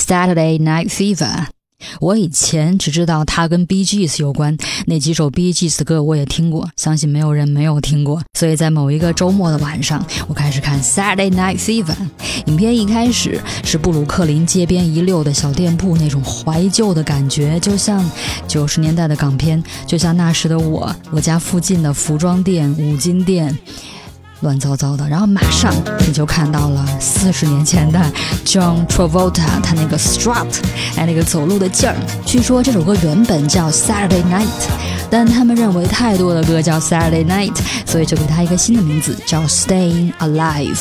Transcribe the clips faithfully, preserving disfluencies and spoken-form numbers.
Saturday Night Fever。我以前只知道它跟 Bee Gees 有关，那几首 Bee Gees 的歌我也听过，相信没有人没有听过。所以在某一个周末的晚上，我开始看 Saturday Night Fever。影片一开始是布鲁克林街边一溜的小店铺，那种怀旧的感觉，就像九十年代的港片，就像那时的我，我家附近的服装店、五金店。乱糟糟的，然后马上你就看到了四十年前的 John Travolta， 他那个 strut， 哎，那个走路的劲儿。据说这首歌原本叫 Saturday Night， 但他们认为太多的歌叫 Saturday Night， 所以就给他一个新的名字叫 Staying Alive。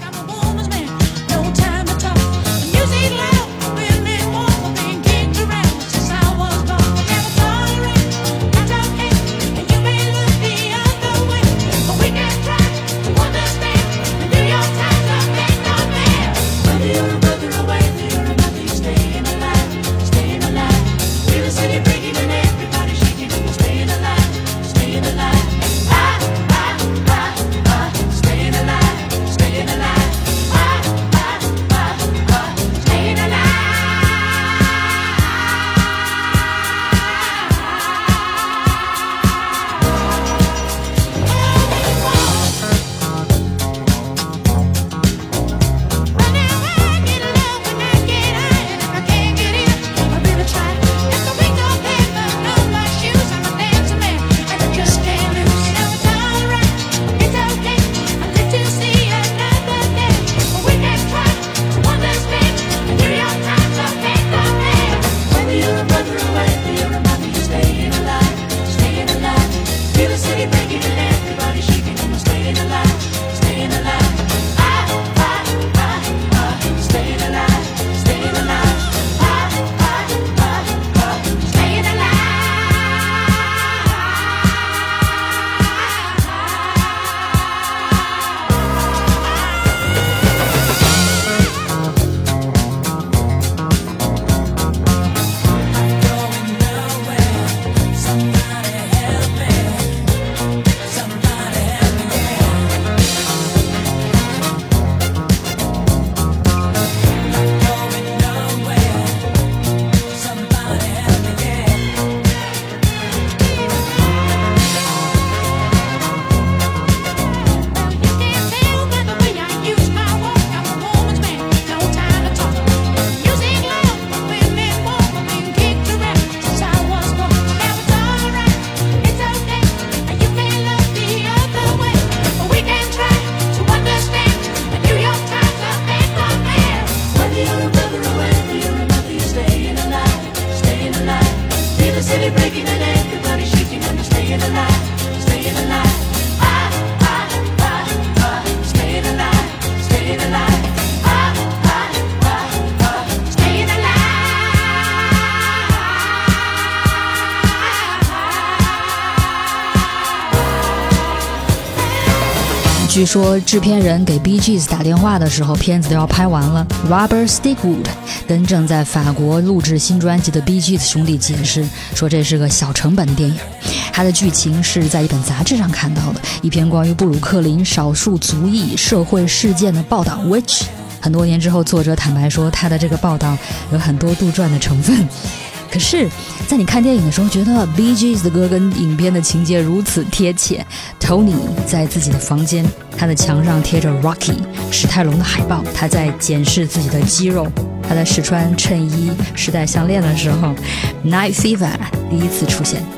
据说制片人给 Bee Gees 打电话的时候，片子都要拍完了。Robert Stigwood 跟正在法国录制新专辑的 Bee Gees 兄弟解释说，这是个小成本电影。它的剧情是在一本杂志上看到的，一篇关于布鲁克林少数族裔社会事件的报道 which 很多年之后，作者坦白说他的这个报道有很多杜撰的成分。可是在你看电影的时候，觉得 Bee Gees 的歌跟影片的情节如此贴切。 Tony 在自己的房间，他的墙上贴着 Rocky 史泰龙的海报，他在检视自己的肌肉，他在试穿衬衣试戴项链的时候， Night Fever 第一次出现。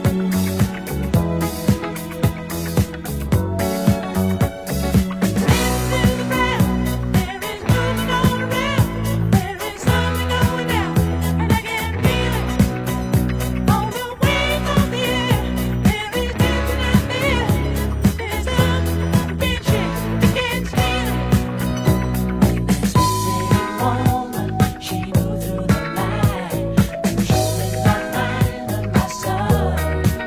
She moved through the light, she was my mind and my soul.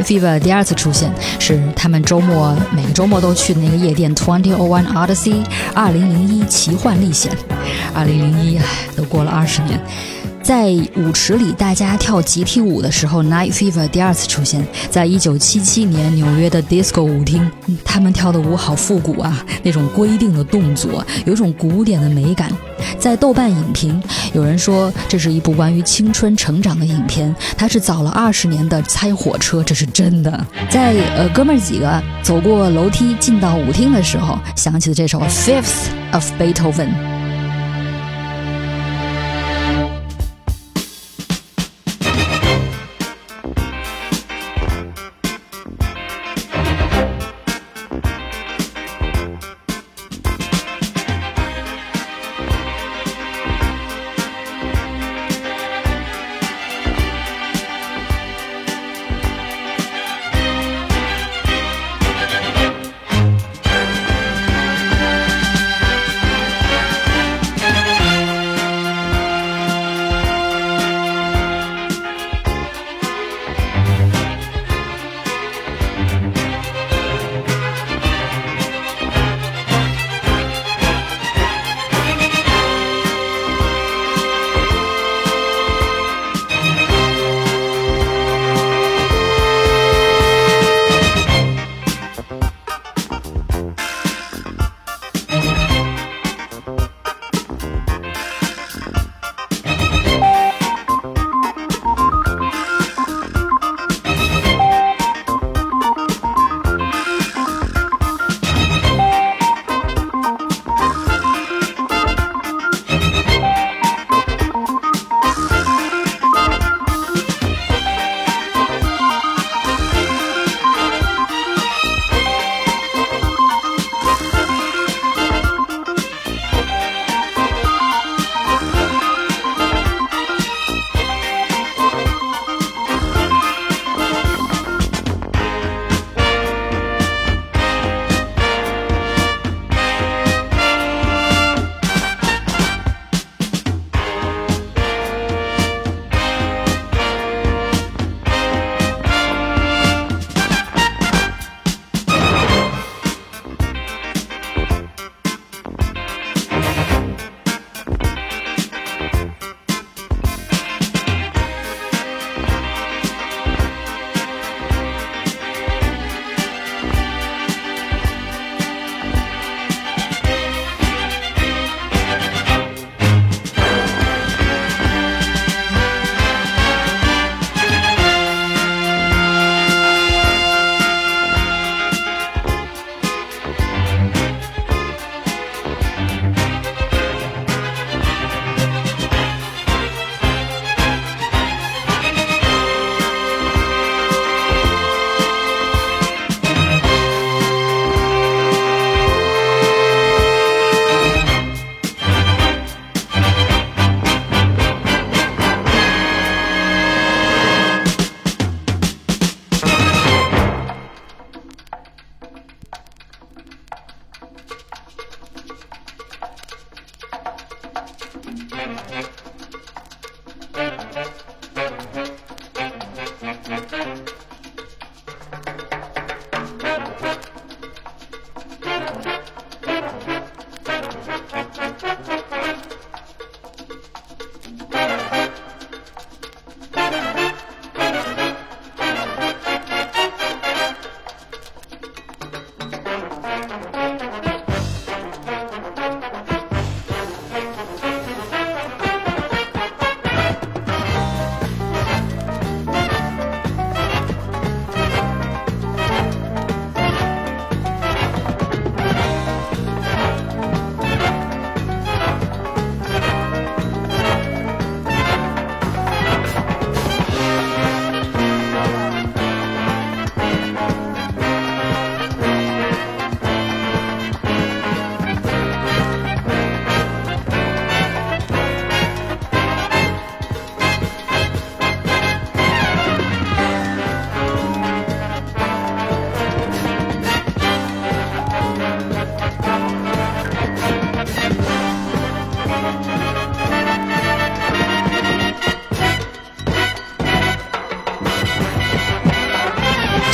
Fever 第二次出现是他们周末每个周末都去的那个夜店 twenty oh one Odyssey 二零零一奇幻历险。二零零一都过了二十年。在舞池里大家跳集体舞的时候 Night Fever 第二次出现，在一九七七年纽约的 disco 舞厅，他们跳的舞好复古啊，那种规定的动作有一种古典的美感。在豆瓣影评有人说这是一部关于青春成长的影片，它是早了二十年的猜火车，这是真的。在呃哥们儿几个走过楼梯进到舞厅的时候，想起了这首 Fifth of Beethoven。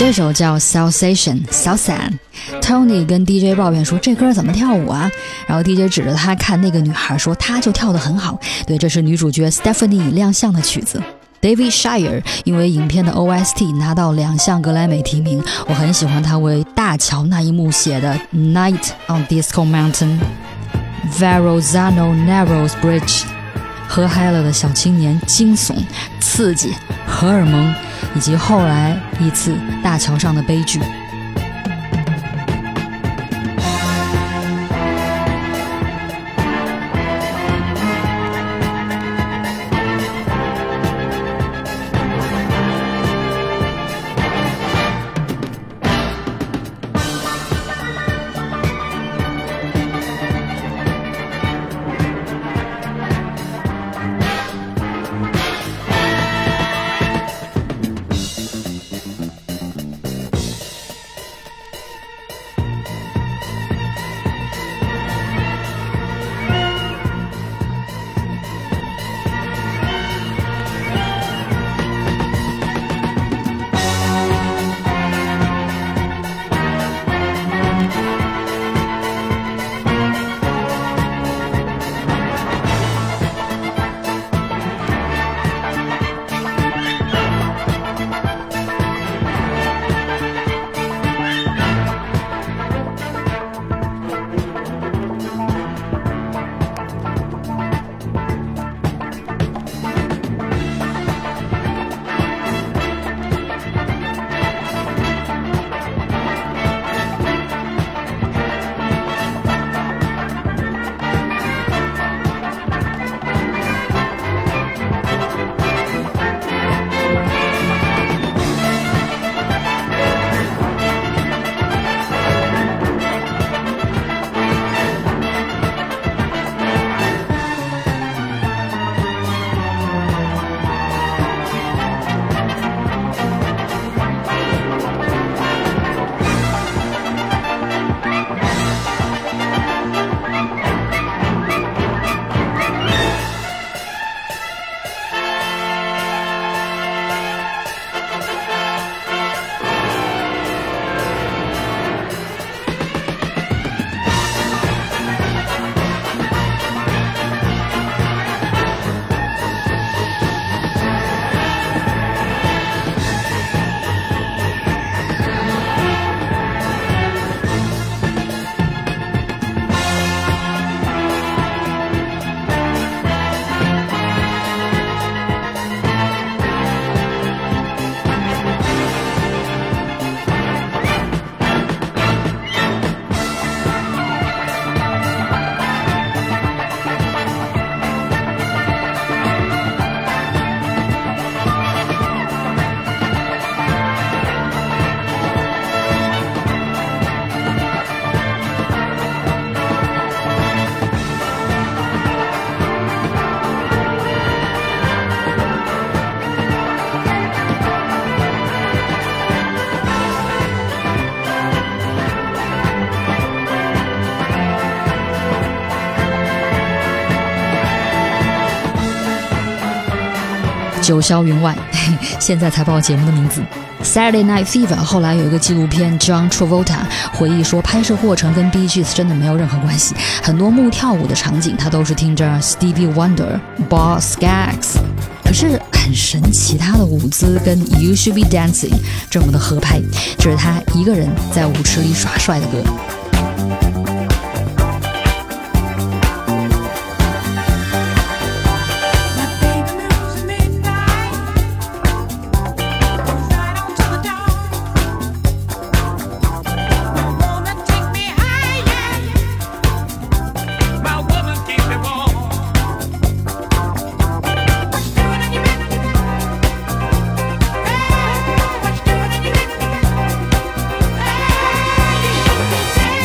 这首叫 Salsation 小伞。 Tony 跟 D J 抱怨说这歌怎么跳舞啊，然后 D J 指着他看那个女孩说她就跳得很好，对，这是女主角 Stephanie 亮相的曲子。 David Shire 因为影片的 O S T 拿到两项格莱美提名，我很喜欢他为大桥那一幕写的 Night on Disco Mountain Verrazano Narrows Bridge， 喝嗨了的小青年，惊悚、刺激、荷尔蒙，以及后来一次大桥上的悲剧。九霄云外，现在才报节目的名字。Saturday Night Fever 后来有一个纪录片 John Travolta 回忆说，拍摄过程跟 Bee Gees 真的没有任何关系，很多幕跳舞的场景他都是听着 Stevie Wonder、Bob Skaggs， 可是很神奇，他的舞姿跟 You Should Be Dancing 这么的合拍，这是他一个人在舞池里耍帅的歌。 Hey,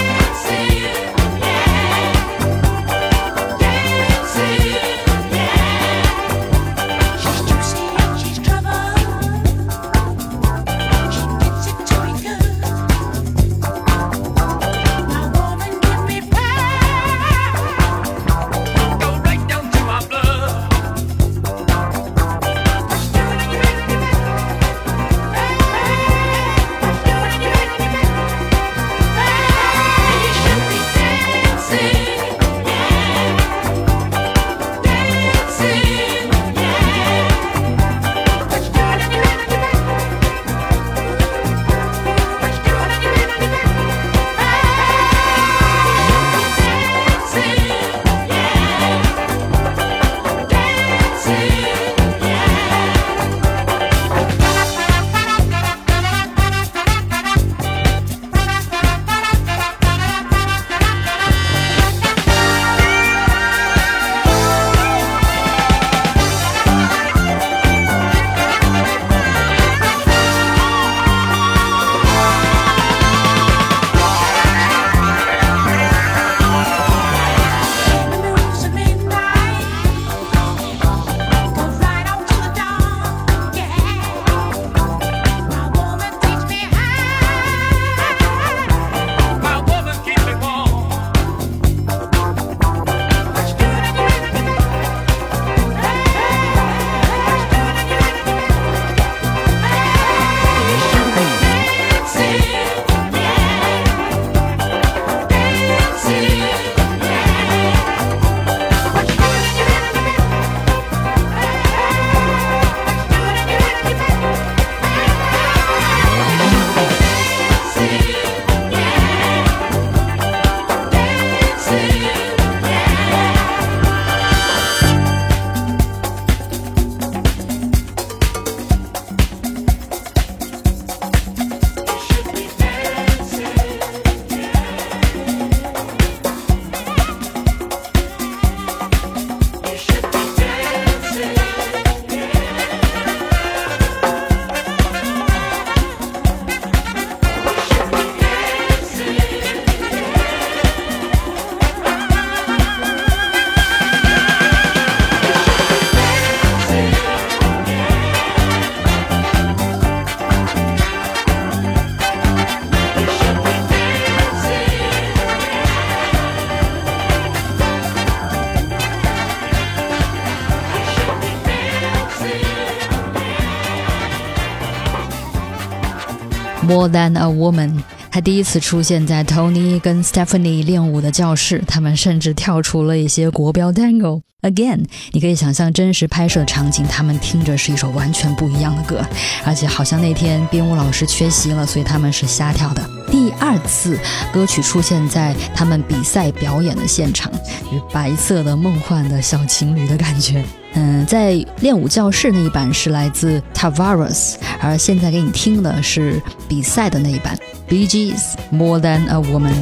More Than a Woman， 他第一次出现在 Tony 跟 Stephanie 练舞的教室，他们甚至跳出了一些国标 Tango。 Again， 你可以想象真实拍摄的场景，他们听着是一首完全不一样的歌，而且好像那天编舞老师缺席了，所以他们是瞎跳的。第二次歌曲出现在他们比赛表演的现场，就是白色的梦幻的小情侣的感觉。嗯，在练舞教室那一版是来自 Tavares， 而现在给你听的是比赛的那一版 Bee Gees More Than a Woman。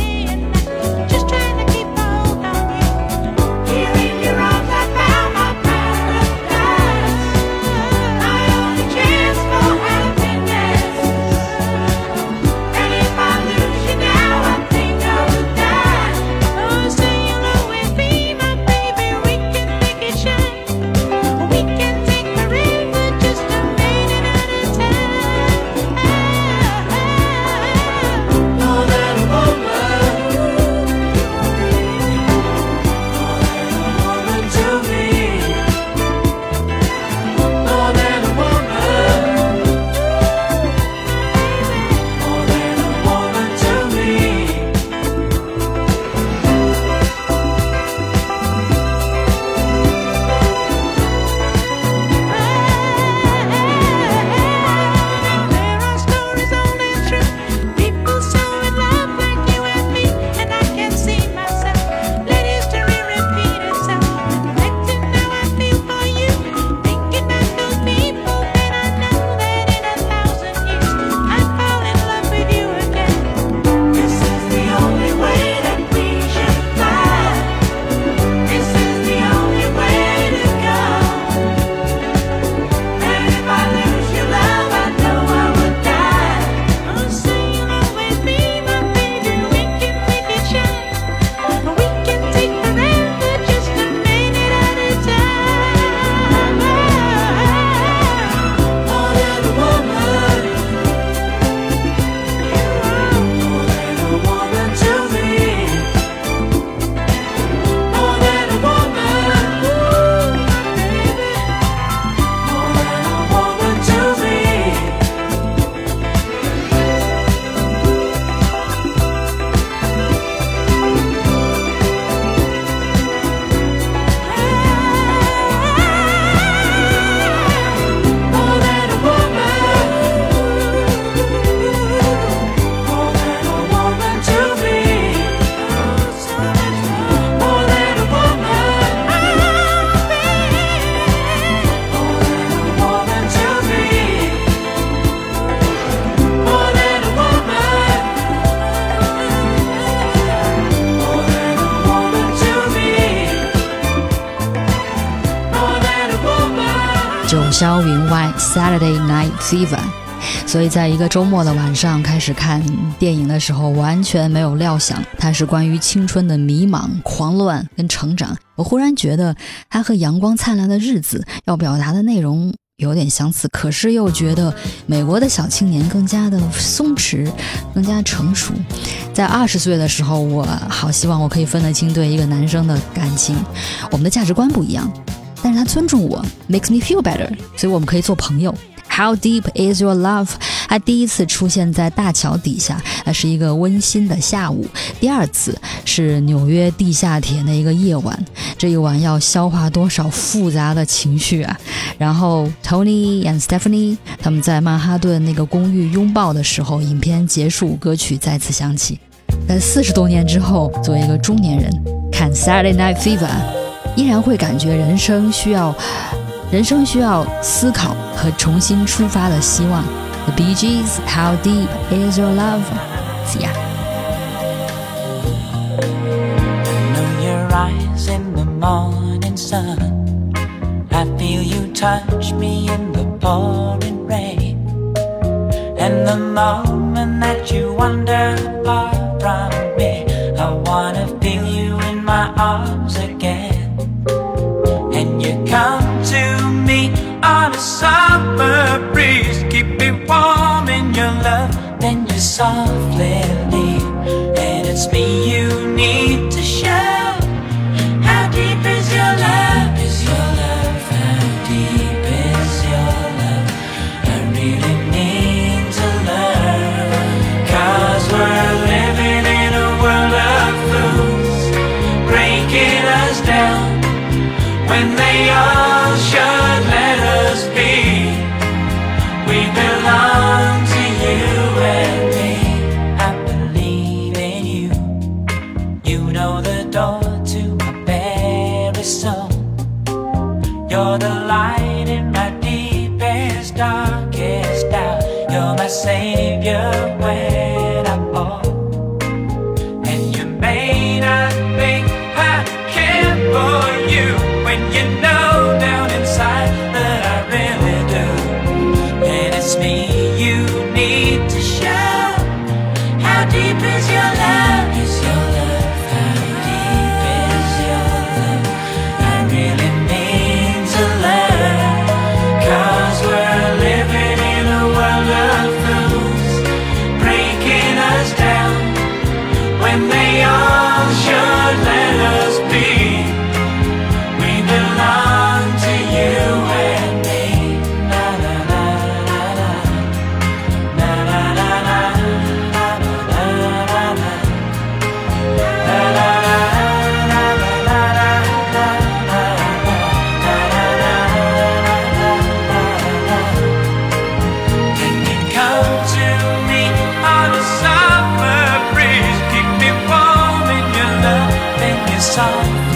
九霄云外 Saturday Night Fever。 所以在一个周末的晚上开始看电影的时候，完全没有料想它是关于青春的迷茫、狂乱跟成长。我忽然觉得它和阳光灿烂的日子要表达的内容有点相似，可是又觉得美国的小青年更加的松弛，更加成熟。在二十岁的时候，我好希望我可以分得清对一个男生的感情，我们的价值观不一样，但是他尊重我 makes me feel better， 所以我们可以做朋友。 How deep is your love？ 他第一次出现在大桥底下，那是一个温馨的下午。第二次是纽约地下铁那一个夜晚，这一晚要消化多少复杂的情绪啊。然后 Tony and Stephanie 他们在曼哈顿那个公寓拥抱的时候，影片结束，歌曲再次响起。在四十多年之后，作为一个中年人看 Saturday Night Fever， 依然会感觉人生需要人生需要思考和重新出发的希望。 The Bee Gees How Deep Is Your Love？ See ya。 I know your eyes in the morning sun, I feel you touch me in the pouring rain, and the moment that you wander far from me, I wanna feel you in my arms again. And you come to me on a summer breeze, keep me warm in your love, then you softly leave, and it's me you need to show. How deep is your love? Is your love? How deep is your love? I really need to learn. breaking us down when they all should let us be. We belong to you and me. I believe in you. You know the door to my very soul. You're the light in my deepest, darkest doubt. You're my savior when I fall. And you may not think I care for you when you know down inside that I really do. And it's me you need to show. How deep is your love? Is your love? How deep is your love? I really need to learn. 'Cause we're living in a world of fools, breaking us down when they all should let us be. We belong to you and me. Na na na na na. Na na na na. Na na na na. Na na na na na na. Can you come to me on a summer breeze? Keep me warm in your love and your song.